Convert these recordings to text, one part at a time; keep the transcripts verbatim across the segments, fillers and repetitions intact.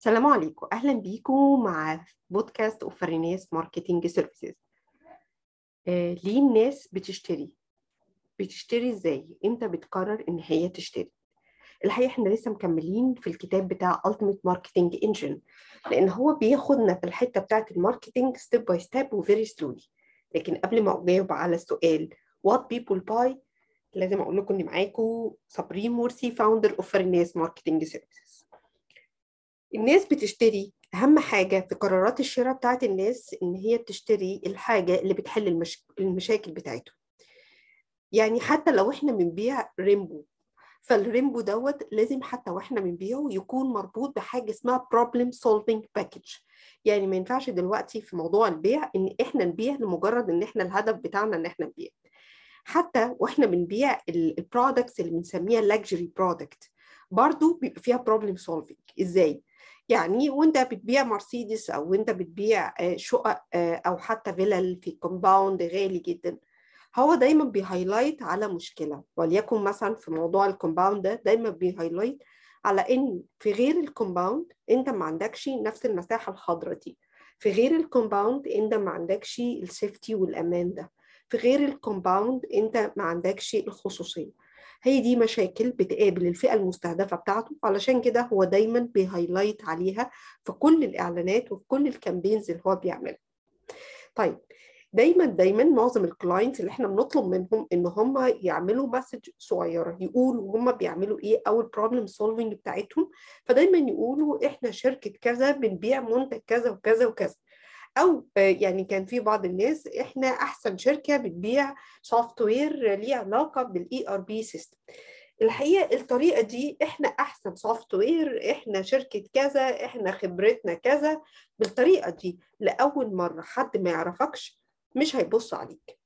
السلام عليكم، أهلا بيكم مع بودكاست أوفريناس ماركتينج سيرفيسز. آه، ليه الناس بتشتري؟ بتشتري إزاي؟ إمتى بتقرر إن هي تشتري؟ الحقيقة إحنا لسه مكملين في الكتاب بتاع Ultimate Marketing Engine، لأن هو بياخدنا في الحتة بتاعة الماركتينج ستيب باي ستيب وفيري سلولي. لكن قبل ما أجاوب على السؤال What people buy، لازم أقول لكم إن معاكم صابرين مرسي فاوندر أوفريناس ماركتينج سيرفيسز. الناس بتشتري، أهم حاجة في قرارات الشراء بتاعت الناس إن هي بتشتري الحاجة اللي بتحل المش... المشاكل بتاعتهم. يعني حتى لو إحنا بنبيع ريمبو، فالريمبو دوت لازم حتى وإحنا بنبيعه يكون مربوط بحاجة اسمها problem solving package. يعني ما ينفعش دلوقتي في موضوع البيع إن إحنا نبيع لمجرد إن إحنا الهدف بتاعنا إن إحنا نبيع. حتى وإحنا بنبيع البرودكتس اللي بنسميها luxury product، برضو بيبقى فيها problem solving. إزاي؟ يعني وانت بتبيع مرسيدس او انت بتبيع شقق او حتى فيلل في كومباوند غالي جدا، هو دايما بيهايلايت على مشكله. وليكن مثلا في موضوع الكومباوند ده دايما بيهايلايت على ان في غير الكومباوند انت ما عندكش نفس المساحه الخضراء دي، في غير الكومباوند انت ما عندكش السيفتي والامان ده، في غير الكومباوند انت ما عندكش الخصوصيه. هي دي مشاكل بتقابل الفئة المستهدفة بتاعته، علشان كده هو دايما بيهايلايت عليها في كل الإعلانات وفي كل الكامبينز اللي هو بيعملها. طيب، دايما دايما معظم الكلاينتس اللي احنا بنطلب منهم ان هم يعملوا مسج صغيره يقولوا هم بيعملوا ايه او البروبلم سولفنج بتاعتهم، فدايما يقولوا احنا شركه كذا بنبيع منتج كذا وكذا وكذا. او يعني كان في بعض الناس احنا احسن شركه بتبيع سوفت وير ليه علاقه بالاي ار بي سيستم. الحقيقه الطريقه دي احنا احسن سوفت وير، احنا شركه كذا، احنا خبرتنا كذا. بالطريقه دي لاول مره حد ما يعرفكش مش هيبص عليك.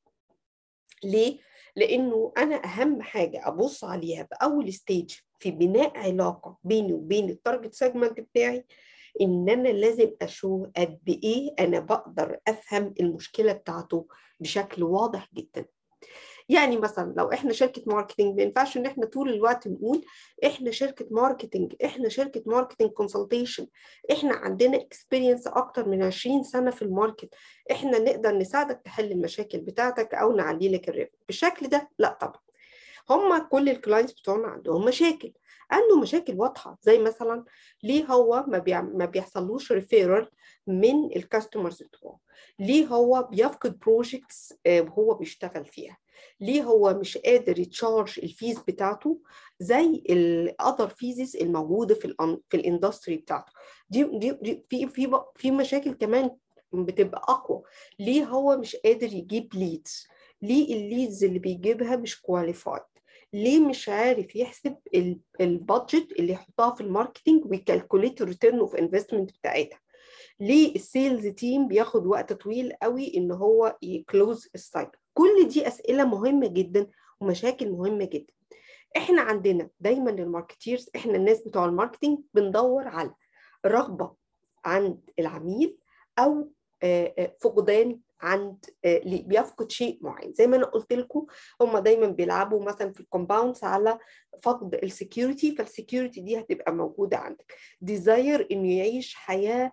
ليه؟ لانه انا اهم حاجه ابص عليها في اول ستيج في بناء علاقه بيني وبين التارجت سيجمنت بتاعي، ان انا لازم اشوف قد ايه انا بقدر افهم المشكله بتاعته بشكل واضح جدا. يعني مثلا لو احنا شركه ماركتنج، ما ينفعش ان احنا طول الوقت نقول احنا شركه ماركتنج، احنا شركه ماركتنج كونسلتيشن، احنا عندنا اكسبيرينس اكتر من عشرين سنه في الماركت، احنا نقدر نساعدك تحل المشاكل بتاعتك او نعلي لك الربح. بالشكل ده لا طبعا. هم كل الكلاينتس بتوعنا عندهم مشاكل، عنده مشاكل واضحه، زي مثلا ليه هو ما, بيع... ما بيحصلوش ريفيرال من الكاستمرز بتوعه، ليه هو بيفقد بروجكتس وهو بيشتغل فيها، ليه هو مش قادر يتشارج الفيز بتاعته زي الاذر فيزز الموجوده في ال في الاندستري بتاعته. دي دي, دي في في في مشاكل كمان بتبقى اقوى. ليه هو مش قادر يجيب ليدز، ليه الليدز اللي بيجيبها مش كواليفايد، ليه مش عارف يحسب البادجت اللي يحطها في الماركتينج ويكالكوليت الريتيرن اوف انفستمنت بتاعتها، ليه السيلز تيم بياخد وقت طويل قوي ان هو يكلوز السايكل. كل دي اسئله مهمه جدا ومشاكل مهمه جدا. احنا عندنا دايما الماركتيرز، احنا الناس بتوع الماركتينج بندور على رغبه عند العميل او فقدان عند اللي بيفقد شيء معين. زي ما انا قلت لكم، هم دايما بيلعبوا مثلا في الكومباوندز على فقد السكيورتي، فالسكيورتي دي هتبقى موجوده عندك. ديزاير انه يعيش حياه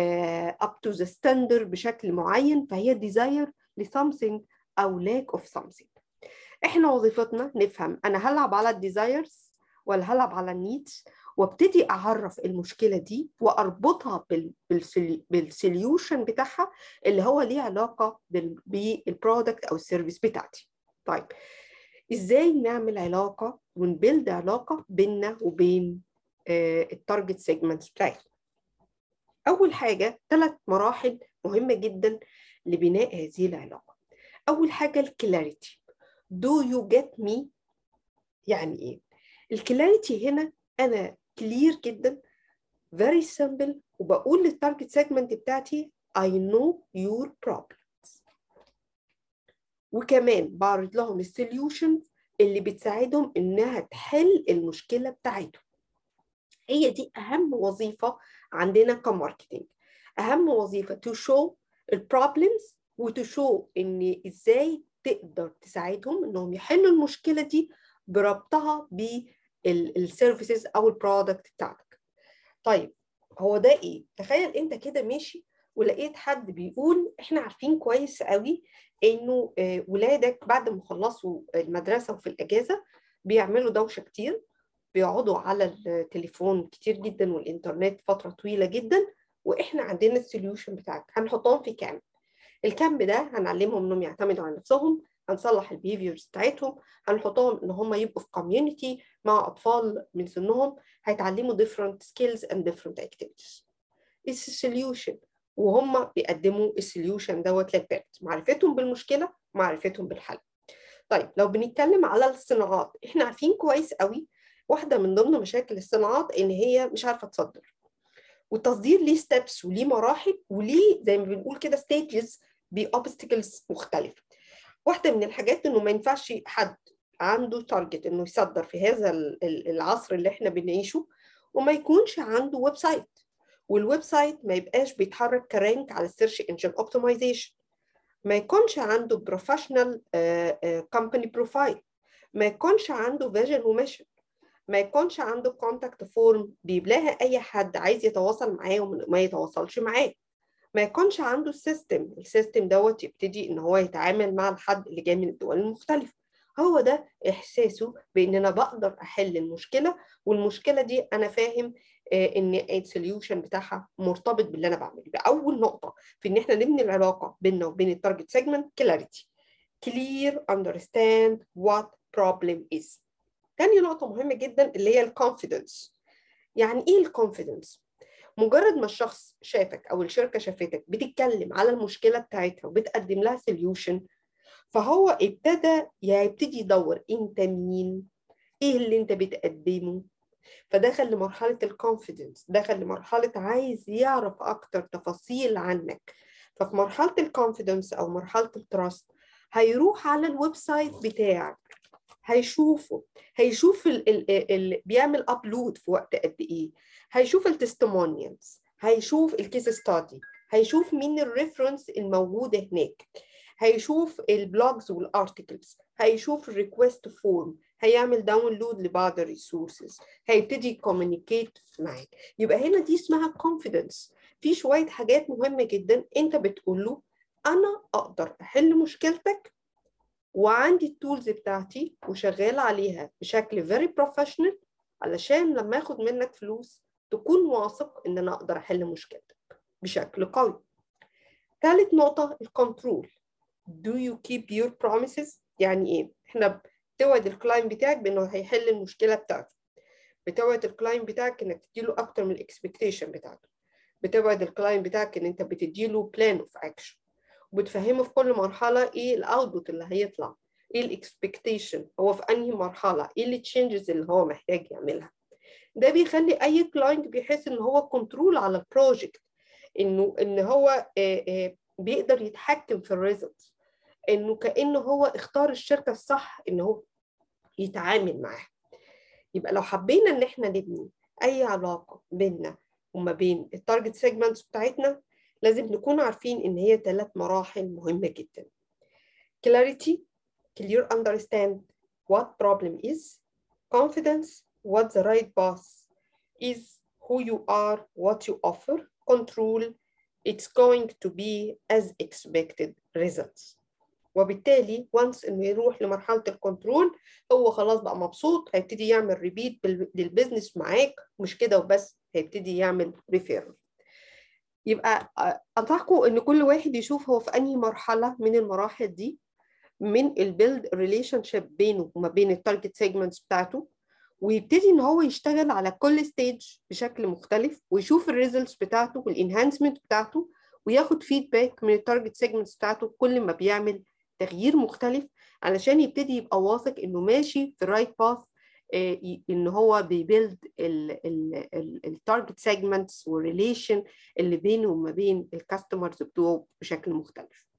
اب تو ذا ستاندرد بشكل معين، فهي ديزاير لسامثينج او لاك اوف سامثينج. احنا وظيفتنا نفهم انا هلعب على الديزايرز ولا هلعب على النيدز، وابتدي اعرف المشكله دي واربطها بالسوليوشن بتاعها اللي هو ليه علاقه بالبرودكت او السيرفيس بتاعتي. طيب، ازاي نعمل علاقه ونبيلد علاقه بيننا وبين التارجت سيجمنتس بتاعتنا؟ اول حاجه ثلاث مراحل مهمه جدا لبناء هذه العلاقه. اول حاجه الكلاريتي. Do you get me؟ يعني ايه الكلاريتي هنا؟ انا كلير جدا، very simple، وبقول للتارجت سيجمنت بتاعتي I know your problems، وكمان بعرض لهم السوليوشن اللي بتساعدهم انها تحل المشكله بتاعتهم. هي دي اهم وظيفه عندنا كماركتينج، اهم وظيفه to show البروبلمز وتو شو ان ازاي تقدر تساعدهم انهم يحلوا المشكله دي بربطها بالسيرفيسز او البرودكت بتاعتك. طيب، هو ده ايه؟ تخيل انت كده ماشي ولقيت حد بيقول احنا عارفين كويس قوي انه ولادك بعد ما خلصوا المدرسه وفي الاجازه بيعملوا دوشه كتير، بيقعدوا على التليفون كتير جدا والإنترنت فترة طويلة جدا، وإحنا عندنا السوليوشن بتاعك هنحطهم في كامب. الكامب ده هنعلمهم إنهم يعتمدوا على نفسهم، هنصلح البيهيفيرز بتاعتهم، هنحطهم إن هم يبقوا في كوميونيتي مع أطفال من سنهم، هيتعلموا different skills and different activities. It's a solution، وهم بيقدموا السوليوشن دوت للبيرنتس، معرفتهم بالمشكلة معرفتهم بالحل. طيب لو بنتكلم على الصناعات، احنا عارفين كويس قوي واحدة من ضمن مشاكل الصناعات إن هي مش عارفة تصدر، والتصدير ليه ستيبس وليه مراحل وليه زي ما بنقول كده ستيجز بأوبستكلز مختلفة. واحدة من الحاجات إنه ما ينفعش حد عنده تارجت إنه يصدر في هذا العصر اللي احنا بنعيشه وما يكونش عنده ويب سايت، والويب سايت ما يبقاش بيتحرك كرانك على السيرش انجن اوبتمايزيشن، ما يكونش عنده بروفيشنال كومباني بروفايل، ما يكونش عنده فيجن وميشن، ما يكونش عنده كونتاكت فورم بيبلاها اي حد عايز يتواصل معاه وما يتواصلش معاه، ما يكونش عنده السيستم السيستم دوت يبتدي ان هو يتعامل مع الحد اللي جاي من الدول المختلفه. هو ده احساسه بان انا بقدر احل المشكله، والمشكله دي انا فاهم ان السوليوشن بتاعها مرتبط باللي انا بعمله. يبقى اول نقطه في ان احنا نبني العلاقه بيننا وبين التارجت سيجمنت كلاريتي، clear understand what problem is. تاني نقطة مهمة جدا اللي هي الكونفيدنس. يعني ايه الكونفيدنس؟ مجرد ما الشخص شافك او الشركة شافتك بتتكلم على المشكلة بتاعتها وبتقدم لها سوليوشن، فهو ابتدى يبتدي يدور انت مين؟ ايه اللي انت بتقدمه؟ فدخل لمرحلة الكونفيدنس، دخل لمرحلة عايز يعرف اكتر تفاصيل عنك. ففي مرحلة الكونفيدنس او مرحلة التراست هيروح على الويب سايت بتاعك، هيشوفه، هيشوف ال ال ال بيعمل ابلود في وقت قد ايه، هيشوف التستمونيالز، هيشوف الكيس ستادي، هيشوف مين الريفرنس الموجوده هناك، هيشوف البلوجز والارتكلز، هيشوف الريكوست فورم، هيعمل داونلود لبعض الريسورسز، هيبتدي يكوميونيكيت معاك. يبقى هنا دي اسمها كونفيدنس. في شويه حاجات مهمه جدا انت بتقول له انا اقدر احل مشكلتك وعندي التولز بتاعتي وشغال عليها بشكل very professional، علشان لما اخد منك فلوس تكون واثق ان انا اقدر احل مشكلتك بشكل قوي. ثالث نقطة الكنترول. do you keep your promises؟ يعني ايه؟ احنا بتوعد الكلاينت بتاعك بانه هيحل المشكلة بتاعته، بتوعد الكلاينت بتاعك انك تديله اكتر من الاكسبكتيشن بتاعته، بتوعد الكلاينت بتاعك ان انت بتديله بلان اوف اكشن، وبتفهمه في كل مرحلة ايه الاوتبوت اللي هيطلع، ايه الاكسبكتيشن، هو في انهي مرحلة، ايه التشينجز اللي هو محتاج يعملها. ده بيخلي اي كلاينت بيحس ان هو كنترول على البروجكت، انه ان هو بيقدر يتحكم في الريزلت، انه كانه هو اختار الشركة الصح ان هو يتعامل معاها. يبقى لو حبينا ان احنا نبني اي علاقة بيننا وما بين التارجت سيجمنتس بتاعتنا، لازم نكون عارفين ان هي ثلاث مراحل مهمة جدا. clarity، clear understand what problem is. confidence، what the right path is, who you are, what you offer. control، it's going to be as expected results. وبالتالي once انه يروح لمرحله الكنترول هو خلاص بقى مبسوط، هيبتدي يعمل ريبيت للبزنس معاك، مش كده وبس، هيبتدي يعمل ريفيرال. يبقى انصحكم ان كل واحد يشوف هو في انهي مرحله من المراحل دي من البيلد ريليشن شيب بينه وما بين التارجت سيجمنتس بتاعته، ويبتدي ان هو يشتغل على كل ستيج بشكل مختلف، ويشوف الريزلتس بتاعته والانهانسمنت بتاعته، وياخد فيدباك من التارجت سيجمنتس بتاعته كل ما بيعمل تغيير مختلف، علشان يبتدي يبقى واثق انه ماشي في الرايت باث، ان هو بيبيلد التارجت سيجمنتس والريليشن اللي بينه وما بين الكاستمرز بتوعه بشكل مختلف.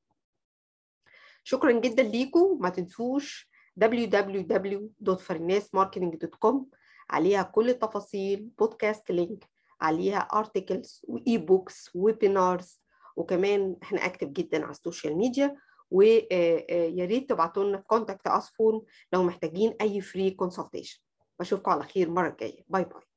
شكرا جدا ليكم. ما تنسوش دبليو دبليو دبليو دوت فريناس ماركتنج دوت كوم، عليها كل التفاصيل، بودكاست لينك، عليها ارتكلز واي بوكس ويبينارز، وكمان احنا اكتف جدا على السوشيال ميديا. ويا ريت تبعتوا لنا في كونتاكت اس فورم لو محتاجين اي فري كونسلتيشن. بشوفكم على خير المره الجايه. باي باي.